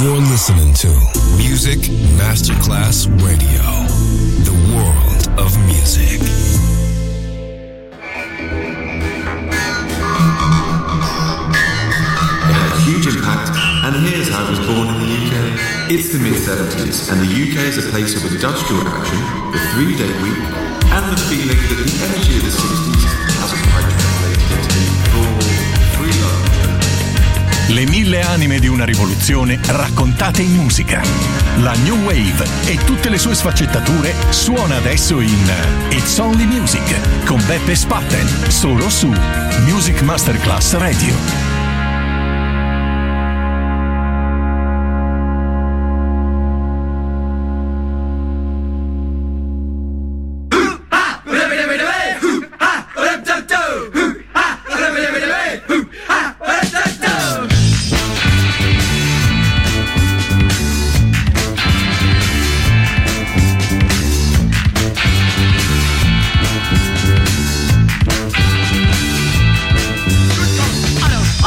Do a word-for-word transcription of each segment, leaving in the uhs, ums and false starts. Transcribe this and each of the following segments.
You're listening to Music Masterclass Radio, the world of music. It had a huge impact, and here's how it was born in the U K. It's the mid seventies, and the U K is a place of industrial action, the three-day week, and the feeling that the energy of the sixties hasn't quite translated into full free love. Le mille anime di una rivoluzione raccontate in musica. La New Wave e tutte le sue sfaccettature suona adesso in It's Only Music con Beppe Spatten, solo su Music Masterclass Radio. I don't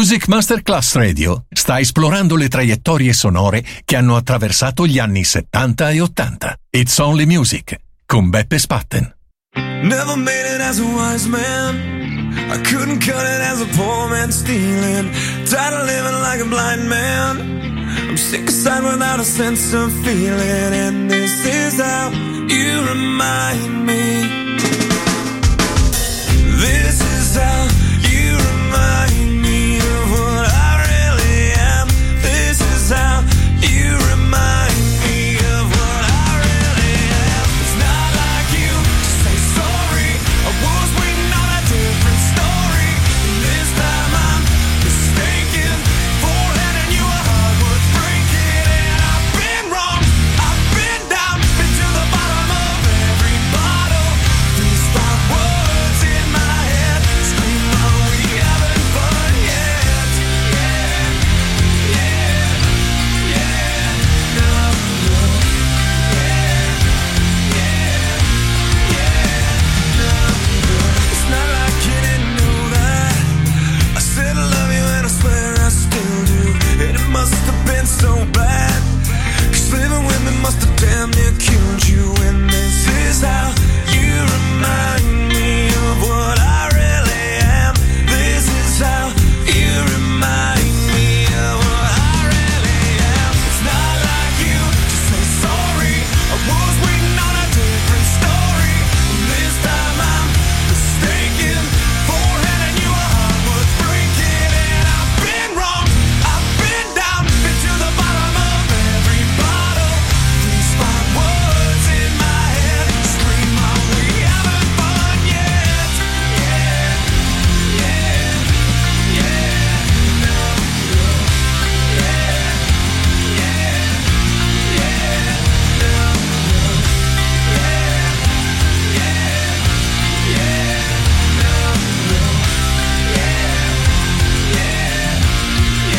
Music Masterclass Radio sta esplorando le traiettorie sonore che hanno attraversato gli anni settanta e ottanta. It's Only Music con Beppe Spatten. Never made it as a wise man. I couldn't cut it as a poor man stealing. Tired of living like a blind man. I'm sick aside without a sense of feeling. And this is how you remind me. This is how you remind me of what I really am. This is how you remind me of what I really am. It's not like you to say sorry. I was waiting on a different story. And this time I'm mistaken for handing you a heart worth breaking. And I've been wrong, I've been down, been to the bottom of every bottle. These five words in my head scream, are we having fun yet? Yeah, yeah, yeah, no, no, yeah, yeah, yeah, no, no. It's not like you didn't know that I said I love you and I swear I still do. And it must have been so bad, 'cause living with me must have damn near killed you. And this is how you remind me of what I really am. This is how you remind me of what I really am. It's not like you to say sorry. I was waiting on a different story. And this time I'm mistaken for handing you a heart worth breaking. And I've been wrong, I've been down, been to the bottom of every bottle. These five words in my head scream, are we having fun yet? Yeah, yeah, yeah, no, no, yeah, yeah, yeah, no, no, yeah, yeah, yeah, no, no, yeah, yeah,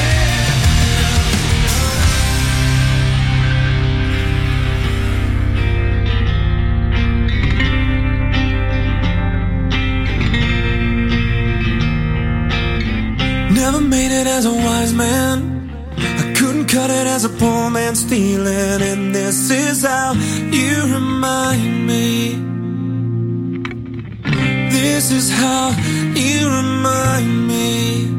yeah. Never made it as a wise man. I couldn't cut it as a poor man stealing. And this is how you remind me. This is how you remind me.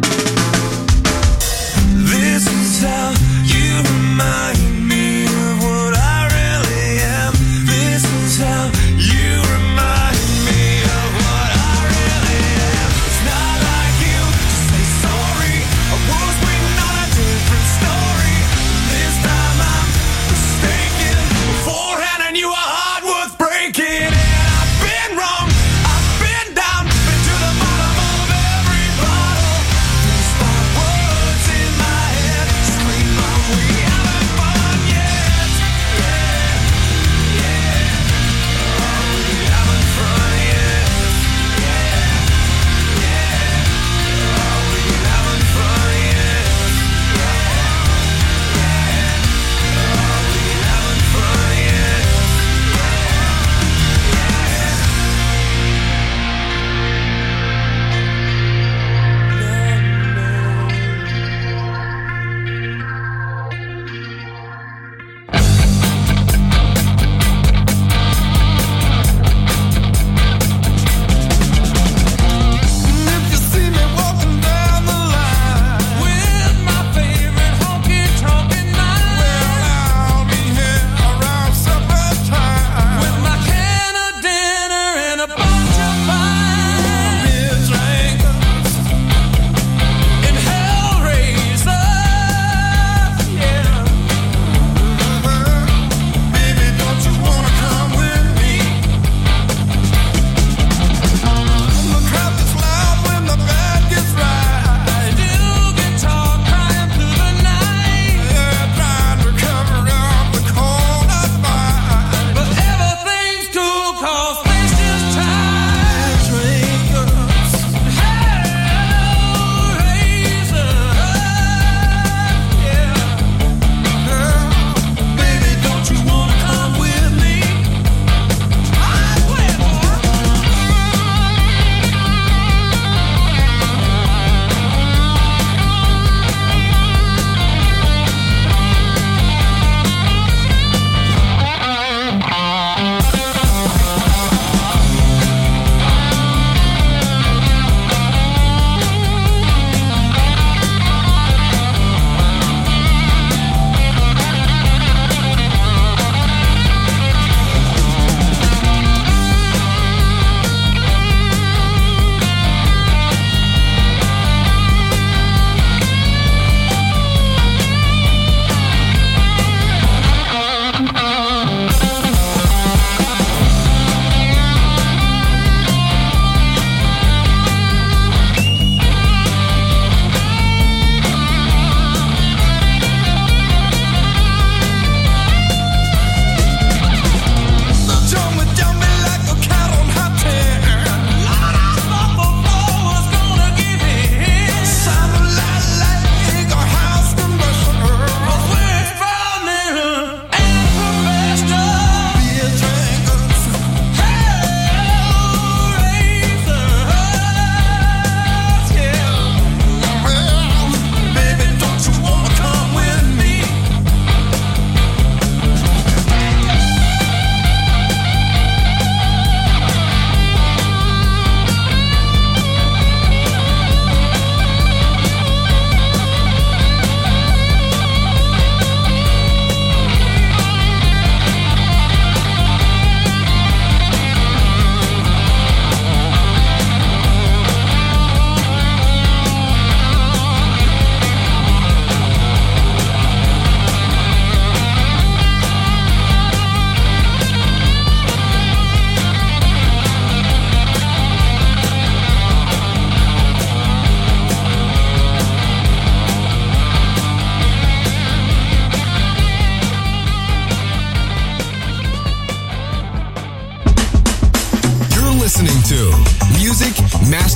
This is how you remind me of what I really am. This is how you remind me of what I really am. It's not like you to say sorry. I was waiting on a different story. This time I'm mistaken for handing you a heart worth breaking. And I've been wrong, I've been down, been to the bottom of every bottle.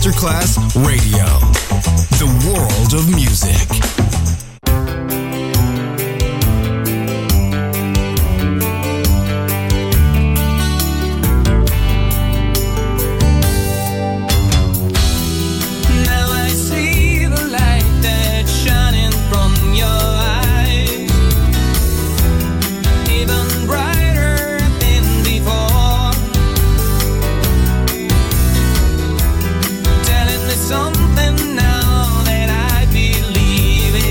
Masterclass Radio. The world of music. Something now that I believe in.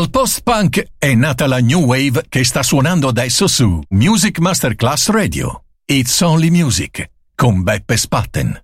Dal post-punk è nata la new wave che sta suonando adesso su Music Masterclass Radio. It's Only Music con Beppe Spatten.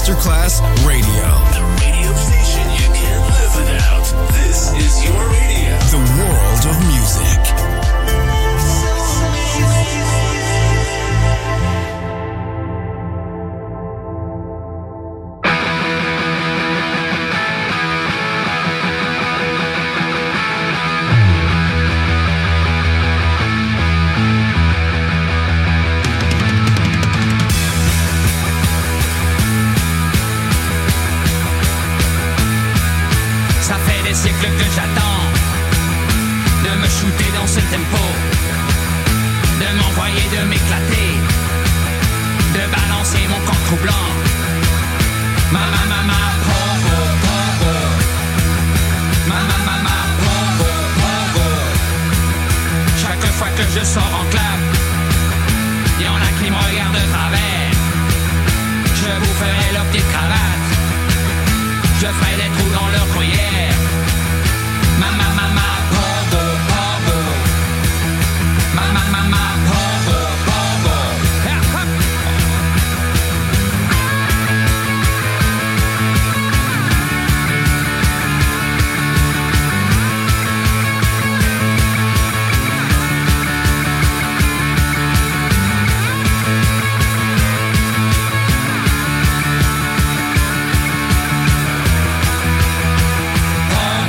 Masterclass Radio. The radio station you can't live without. This is your radio. The world of music. Siècle que j'attends de me shooter dans ce tempo, de m'envoyer, de m'éclater, de balancer mon corps troublant. Mama, mama, po, po, po, po. Mama, mama, po, po, po, po. Chaque fois que je sors en club, y'en a qui me regardent de travers. Je vous ferai leur petite cravate, je ferai des trous dans leur gruyère. Mama, mama, pogo, pogo. Mama, mama, pogo, pogo. Pogo.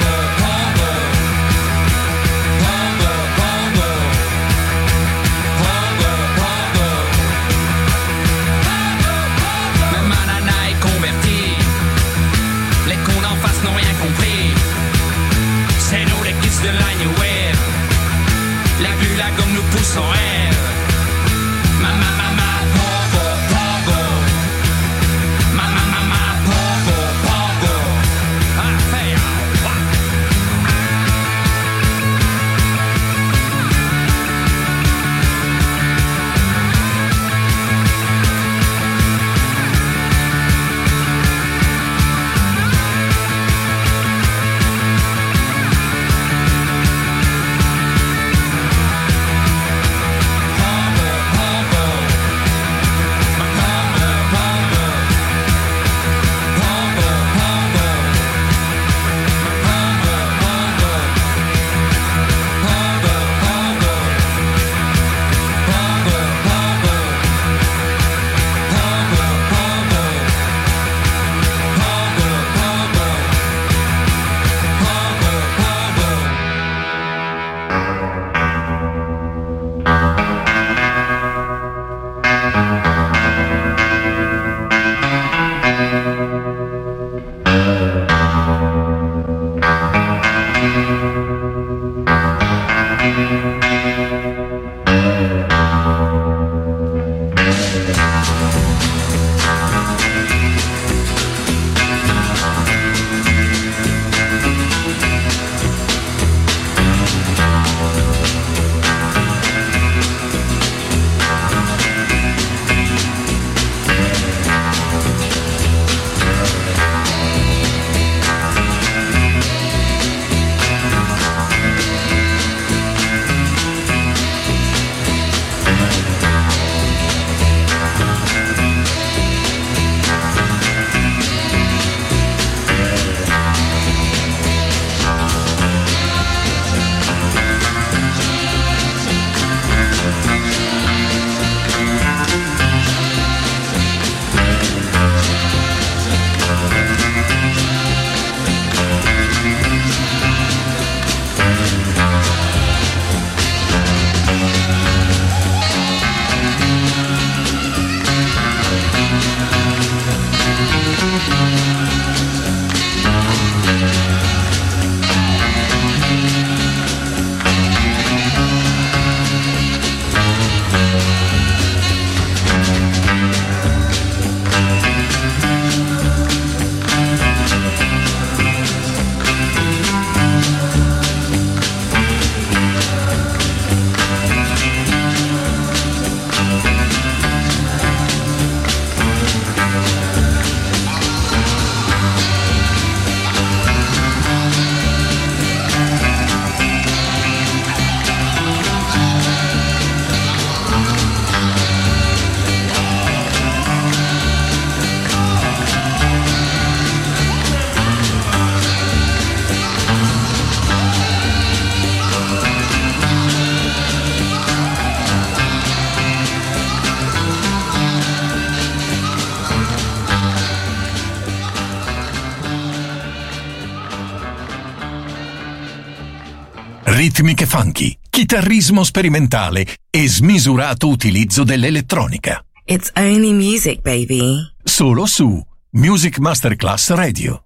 ritmiche funky, chitarrismo sperimentale e smisurato utilizzo dell'elettronica. It's only music, baby. Solo su Music Masterclass Radio.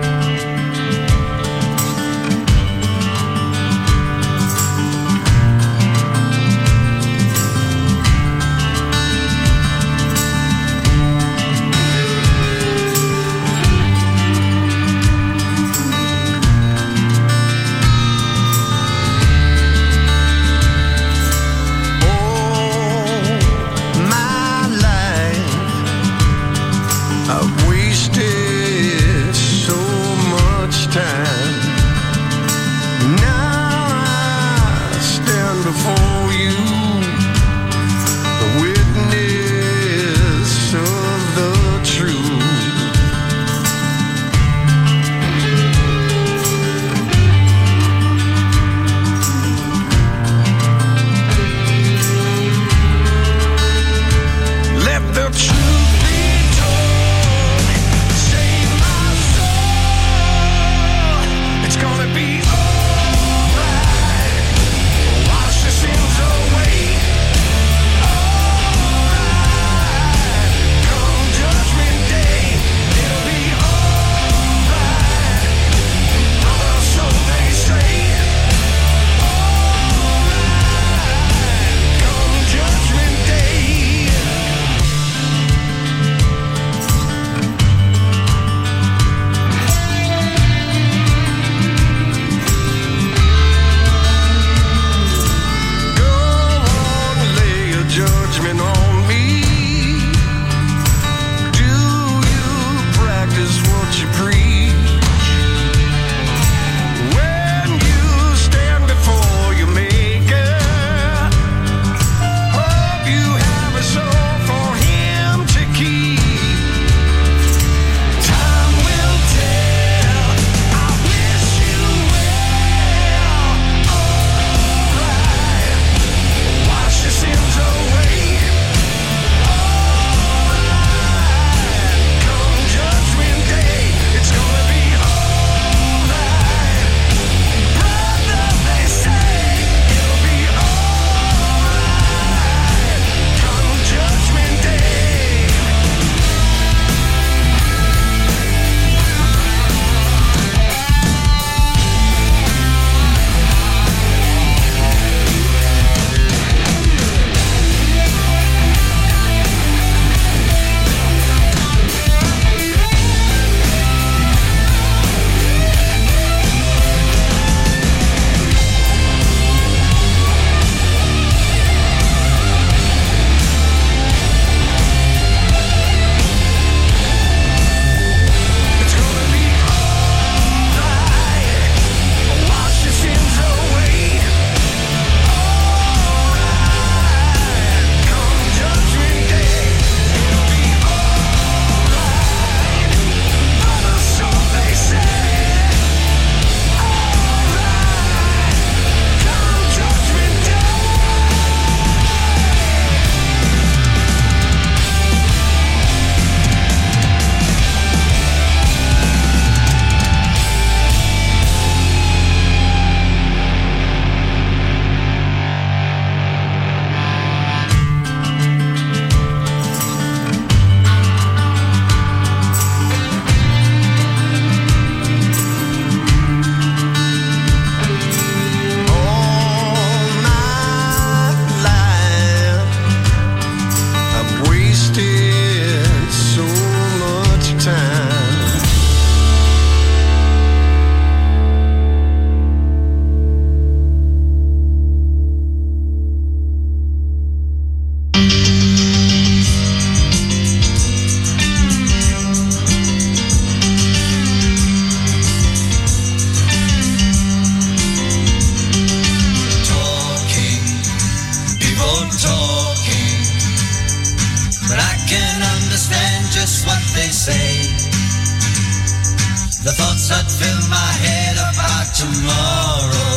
The thoughts that fill my head about tomorrow.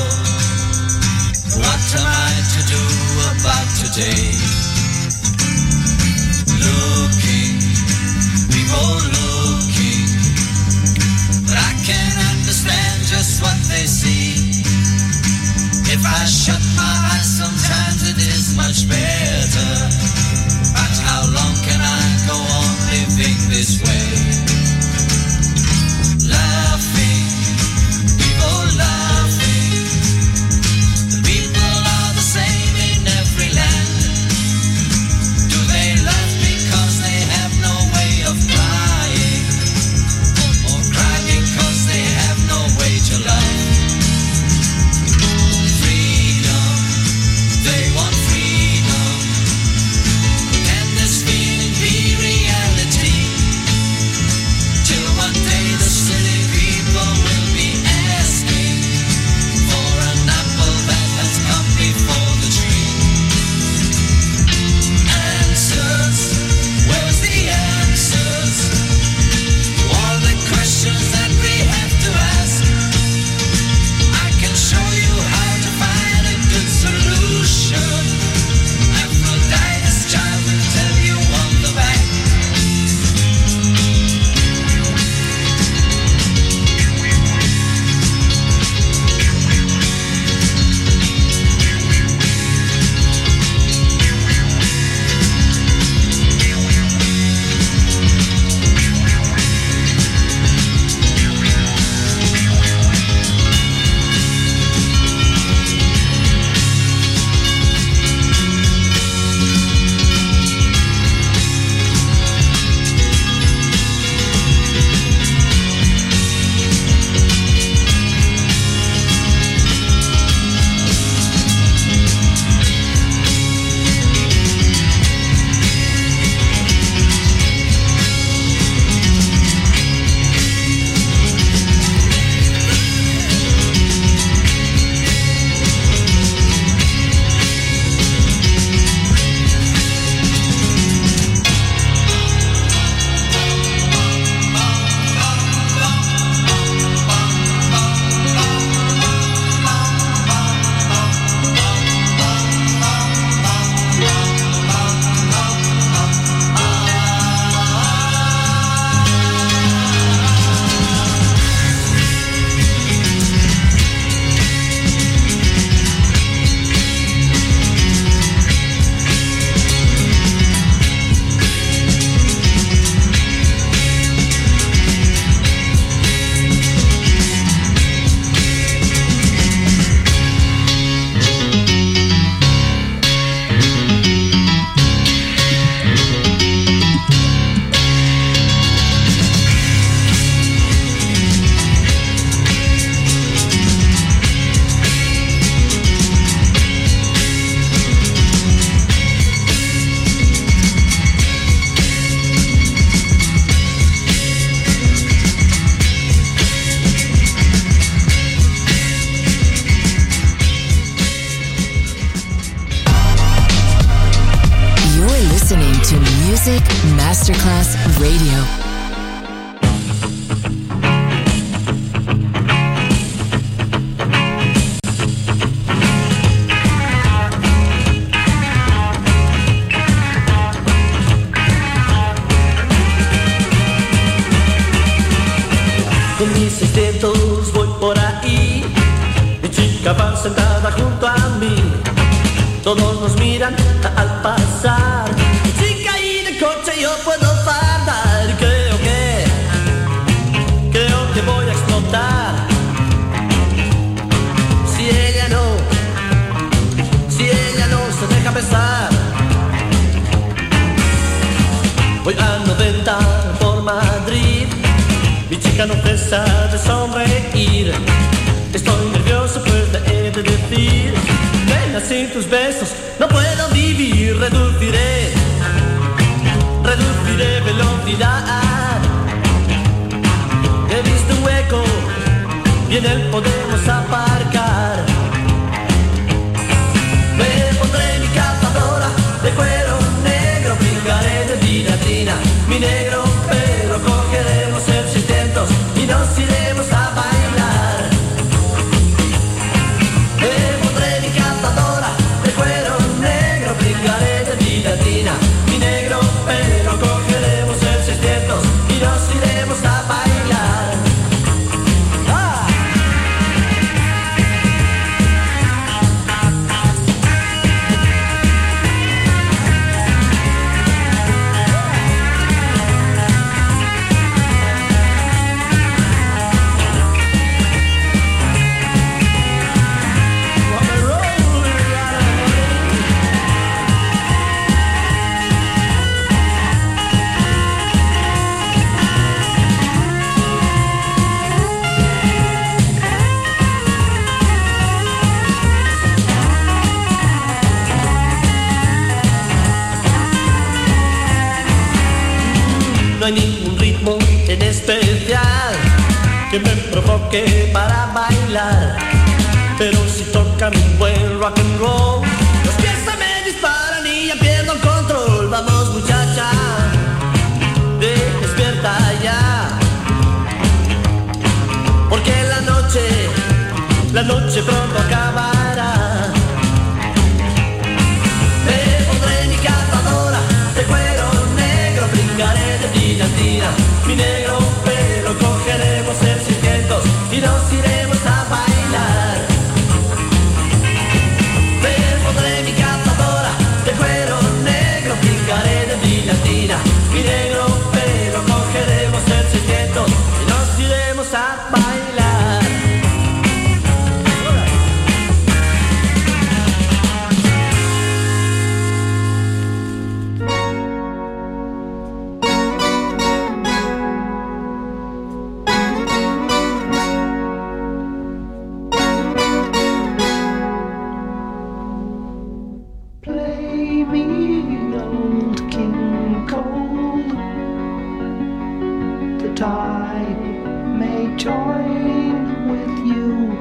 What am I to do about today? Looking, people looking, but I can't understand just what they see. If I shut my eyes, sometimes it is much better. But how long can I go on living this way? Laughing, people laughing. The people are the same in every land. Do they laugh because they have no way of crying? Or cry because they have no way to love? Freedom, they want freedom. Can this feeling be reality? Till one day the silly people will be asking for an apple that has come before the tree. Answers, where's the answers to all the questions that we have to ask? I can show you how to find a good solution. Aphrodite's child will tell you on the back. You're listening to Music Masterclass Radio. Con mis seiscientos voy por ahí, mi chica va sentada junto a mí, todos nos miran al pasar, mi chica y de coche yo puedo fardar, y creo que, creo que voy a explotar, si ella no, si ella no se deja besar, voy a noventa por Madrid. Mi chica no cesa de sonreír. Estoy nervioso pues le he de decir, ven sin tus besos no puedo vivir. Reduciré, reduciré velocidad. He visto un hueco y en él podemos aparcar. Me pondré mi cazadora de cuero negro, brincaré de tiratina mi negro pelo, cogeremos el seiscientos y nos iremos a bailar. Me pondré mi cazadora de cuero negro, brincaré de tiratina mi negro pelo, cogeremos el seiscientos y nos iremos a bailar. ¡Ah! que me provoque para bailar. Pero si tocan un buen rock and roll, los pies se me disparan y ya pierdo el control. Vamos muchacha, despierta ya, porque la noche, la noche pronto acabará. Me pondré mi cazadora de cuero negro, brincaré de brillantina, mi negro pelo, cogeremos el seiscientos y nos iremos a bailar. Me pondré mi cazadora de cuero negro, brincaré de brillantina, mi negro pelo, cogeremos el seiscientos y nos iremos a bailar. Play me old King Cole, that I may join with you.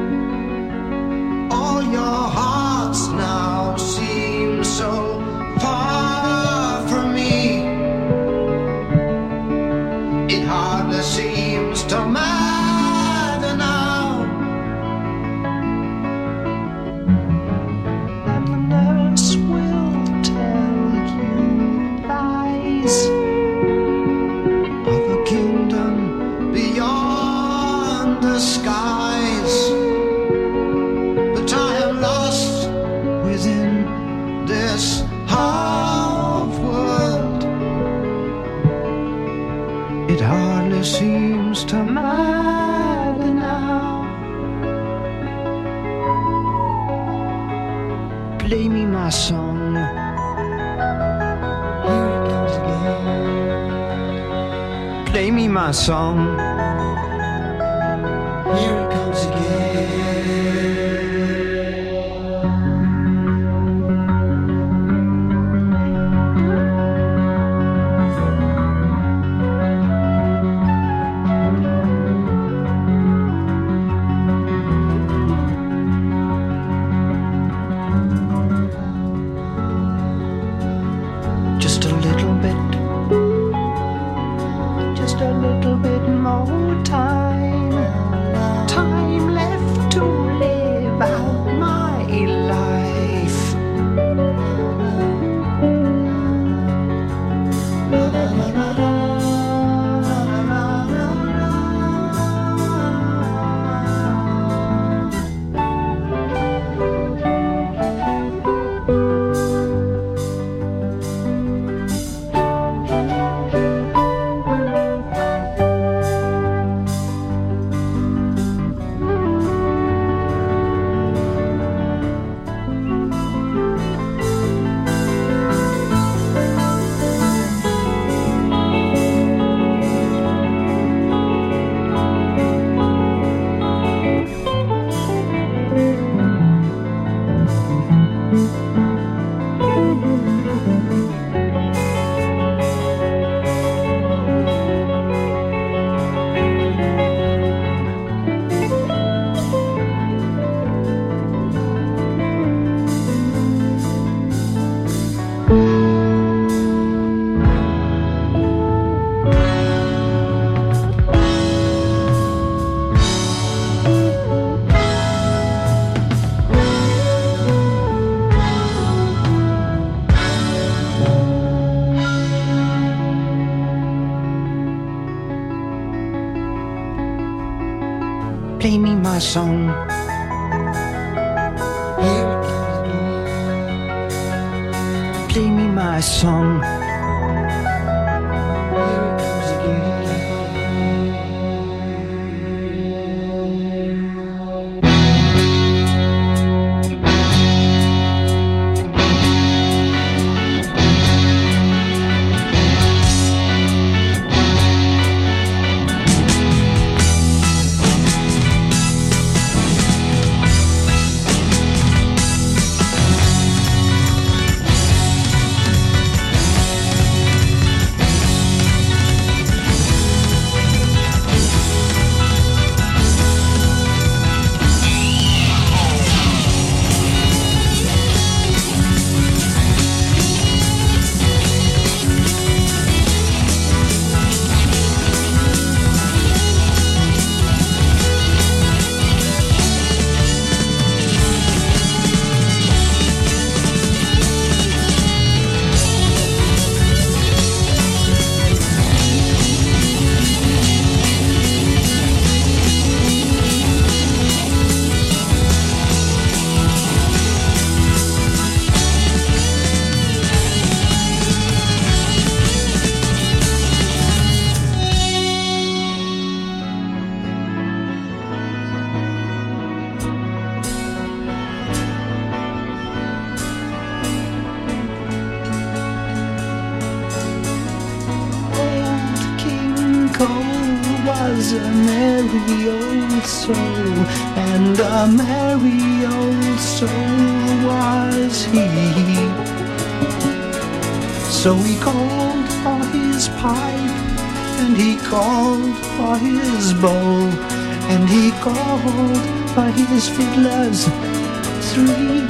All your hearts now seem so far from me. It hardly seems to matter now. And the nurse will tell you lies Of a kingdom beyond the skies. But I am lost within this half world. It hardly seems to matter now. Play me my song. Here it comes again. Play me my song. Here it comes again. Just a little bit, just a little bit more time, time left to live out my life. Play me my song. Here it comes again. Play me my song. Here it comes again. She's a merry old soul, and a merry old soul was he. So he called for his pipe, and he called for his bowl, and he called for his fiddlers three.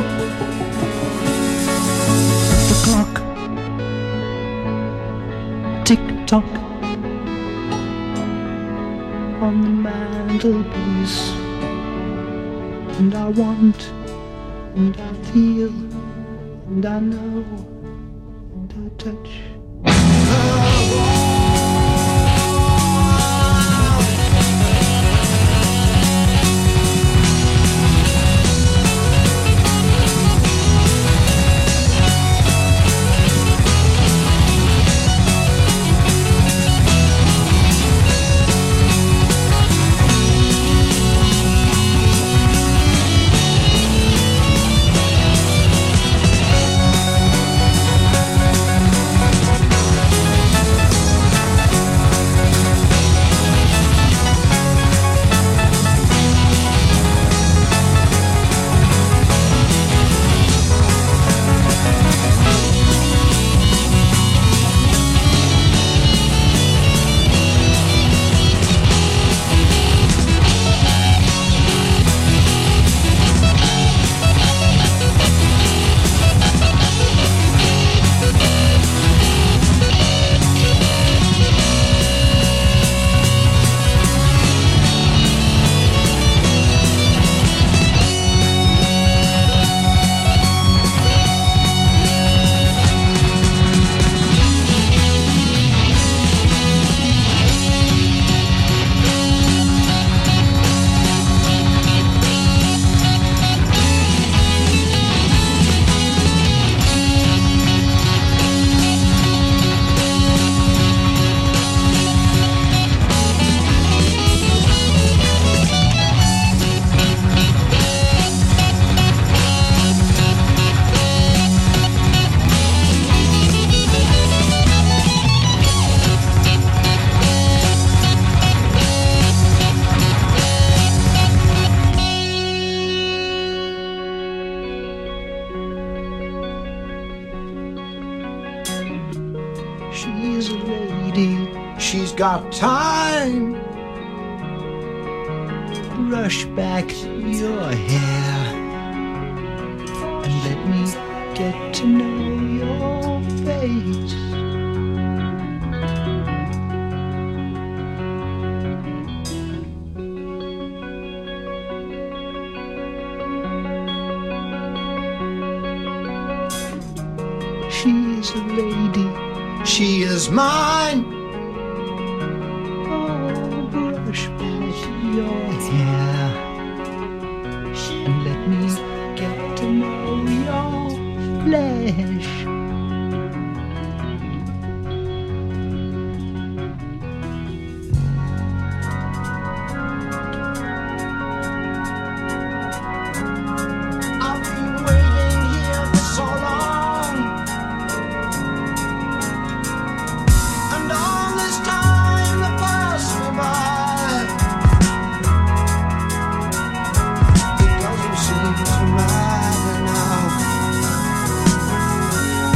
The clock tick-tock on the mantelpiece, and I want, and I feel, and I know, and I touch. She's a lady, she's got time. Brush back your hair and let me get to know your face. She is a lady, she is mine. Oh, brush back your hair and let me get to know your flesh. I've been waiting here for so long, and all this time that passed me by, it doesn't seem to matter now.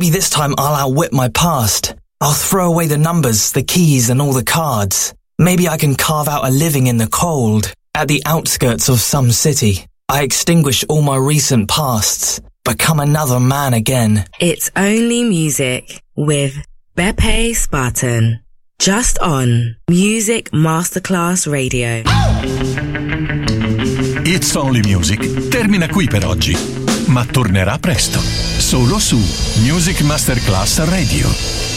Maybe this time I'll outwit my past. I'll throw away the numbers, the keys, and all the cards. Maybe I can carve out a living in the cold, at the outskirts of some city. I extinguish all my recent pasts, become another man again. It's Only Music with Beppe Spartan. Just on Music Masterclass Radio. It's Only Music termina qui per oggi, ma tornerà presto, solo su Music Masterclass Radio.